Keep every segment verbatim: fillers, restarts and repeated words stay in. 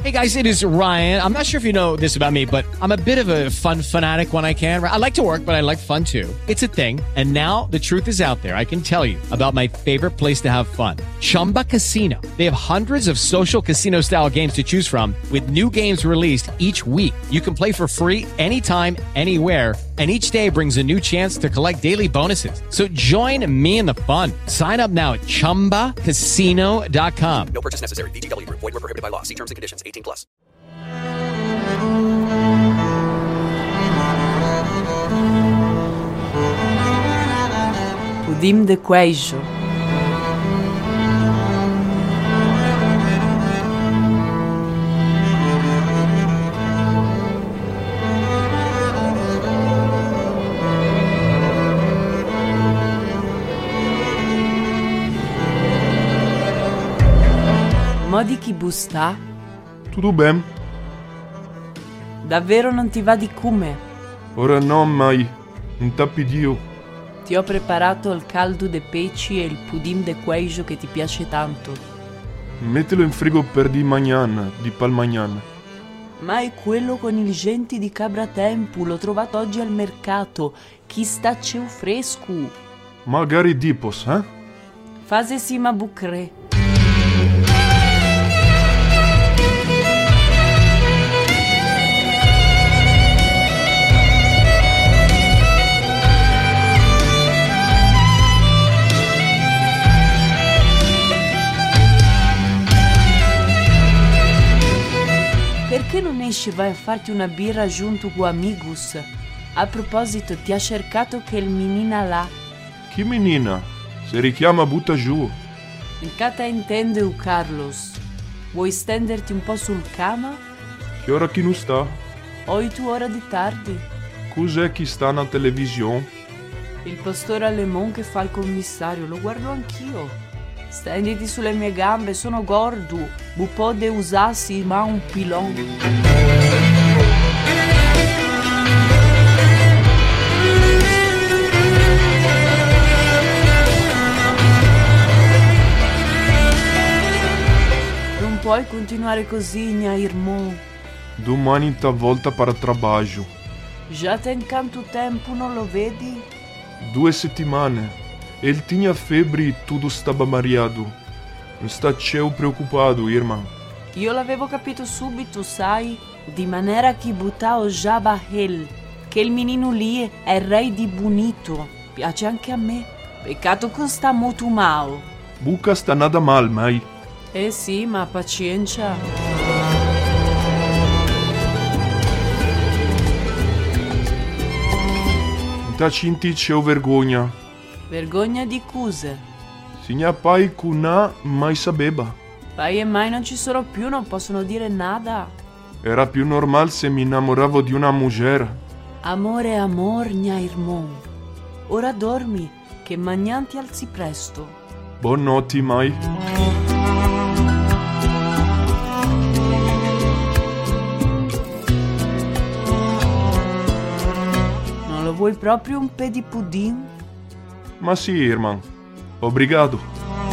Hey guys, it is Ryan. I'm not sure if you know this about me, but I'm a bit of a fun fanatic when I can. I like to work, but I like fun too. It's a thing. And now the truth is out there. I can tell you about my favorite place to have fun. Chumba Casino. They have hundreds of social casino style games to choose from with new games released each week. You can play for free anytime, anywhere. And each day brings a new chance to collect daily bonuses. So join me in the fun. Sign up now at chumba casino dot com. No purchase necessary. V G W. Void where prohibited by law. See terms and conditions. eighteen plus. Pudim de queijo. Modi chi busta? Tutto bene? Davvero non ti va di come? Ora no, mai. Non t'appi Dio. Ti ho preparato il caldo de peci e il pudim de queijo che ti piace tanto. Mettilo in frigo per di mañana, di pal mañana. Ma è quello con il genti di cabra tempu, l'ho trovato oggi al mercato. Chi staccio fresco? Magari dipos, eh? Fase sima bucre. Perché non esci e vai a farti una birra giunto con amigos? A proposito, ti ha cercato che il menina là. Chi menina? Se richiama butta giù. In cata intende u Carlos. Vuoi stenderti un po' sul cama? Che ora chi non sta? O tu ora di tardi? Cos'è chi sta na televisione? Il pastore Alemon che fa il commissario, lo guardo anch'io. Stenditi sulle mie gambe, sono gordo. Bu pode usarsi ma un pilon. Non puoi continuare così, mia irmão. Domani ta volta para trabalho. Già tem quanto tempo, non lo vedi? Due settimane. Ele tinha febre e tudo stava mareado. Non sta ceu preoccupado, irmã. Io l'avevo capito subito, sai? Di maniera che buttavo già Bahel. Che il menino lì è re di bonito. Piace anche a me. Peccato che sta molto male. Buca sta nada mal, mai. Eh sì, ma pazienza. Ta cinti c'è vergogna. Vergogna di cose. Signa pai cuna mai sapeva. Pai e mai non ci sono più, non possono dire nada. Era più normal se mi innamoravo di una mujer. Amore, amor, mia irmão. Ora dormi, che magnan ti alzi presto. Buonanotte, mai. Non lo vuoi proprio un pe di pudim? Ma sì, irmão. Obrigado.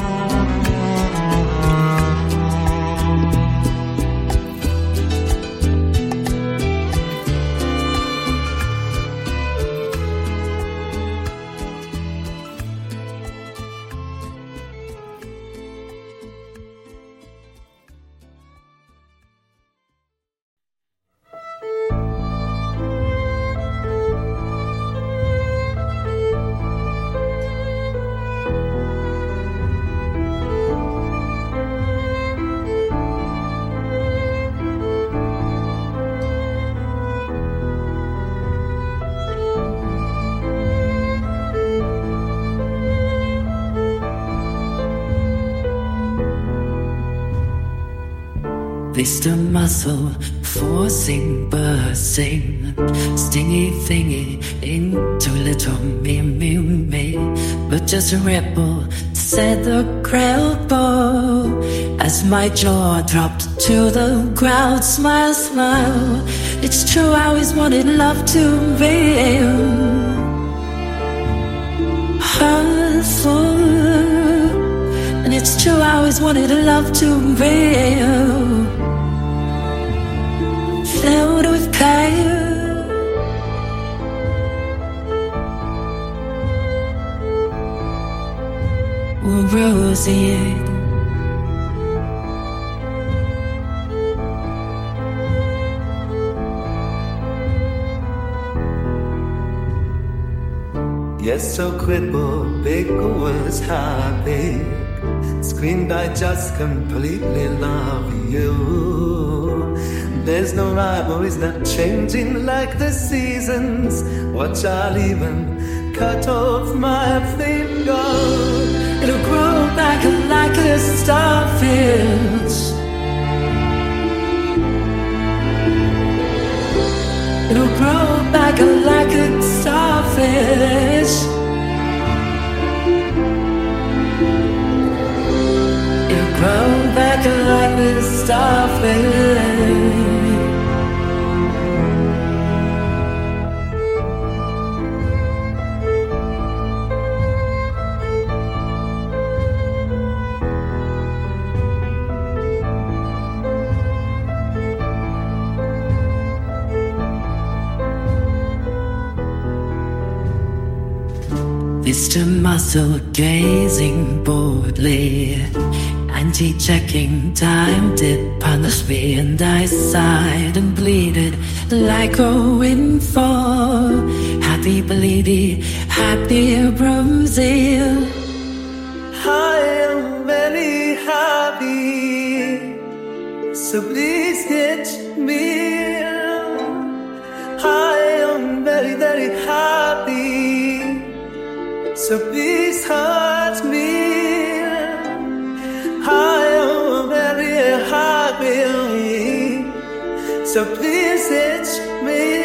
This the muscle forcing, bursting, stingy thingy into little me, me, me. But just a rebel, said the credible, as my jaw dropped to the ground. Smile, smile. It's true, I always wanted love to be hurtful, and it's true, I always wanted love to be see it. Yes, so crippled, big was happy. Screamed, I just completely love you. There's no rivalries not changing like the seasons. Watch, I'll even cut off my finger. It'll grow back like a starfish. It'll grow back like a starfish. It'll grow back like a starfish. Mister Muscle gazing boredly, anti-checking time did punish me, and I sighed and bleated like a windfall. Happy bleedy, happy Brazil. I am very happy, so please get me. I am very, very happy, so please hurt me. I am very happy, so please hit me.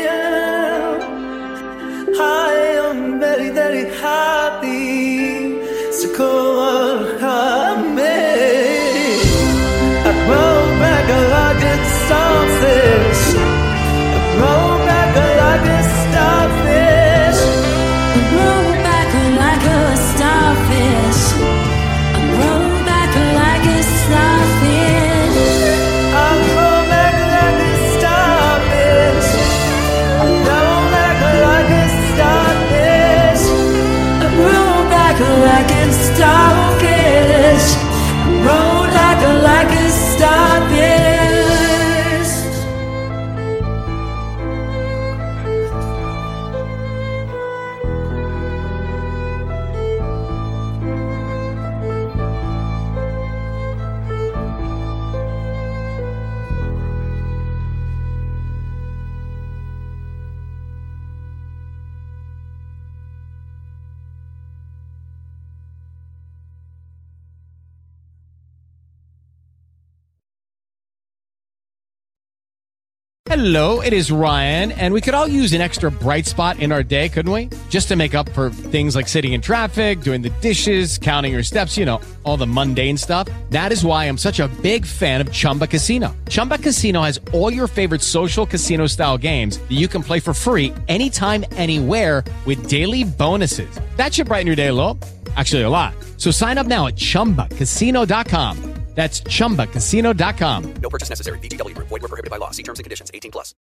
I am very, very happy, so call me. I roll back like a starfish. I roll back like a starfish. I roll back like a starfish. I roll back like a starfish. I roll back like a starfish. I roll back like a starfish. I roll back like a starfish. I roll back like a starfish. Hello, it is Ryan, and we could all use an extra bright spot in our day, couldn't we? Just to make up for things like sitting in traffic, doing the dishes, counting your steps, you know, all the mundane stuff. That is why I'm such a big fan of Chumba Casino. Chumba Casino has all your favorite social casino-style games that you can play for free anytime, anywhere with daily bonuses. That should brighten your day a little. Actually, a lot. So sign up now at chumba casino dot com. That's chumba casino dot com. No purchase necessary. V G W Group. Void where prohibited by law. See terms and conditions. eighteen plus.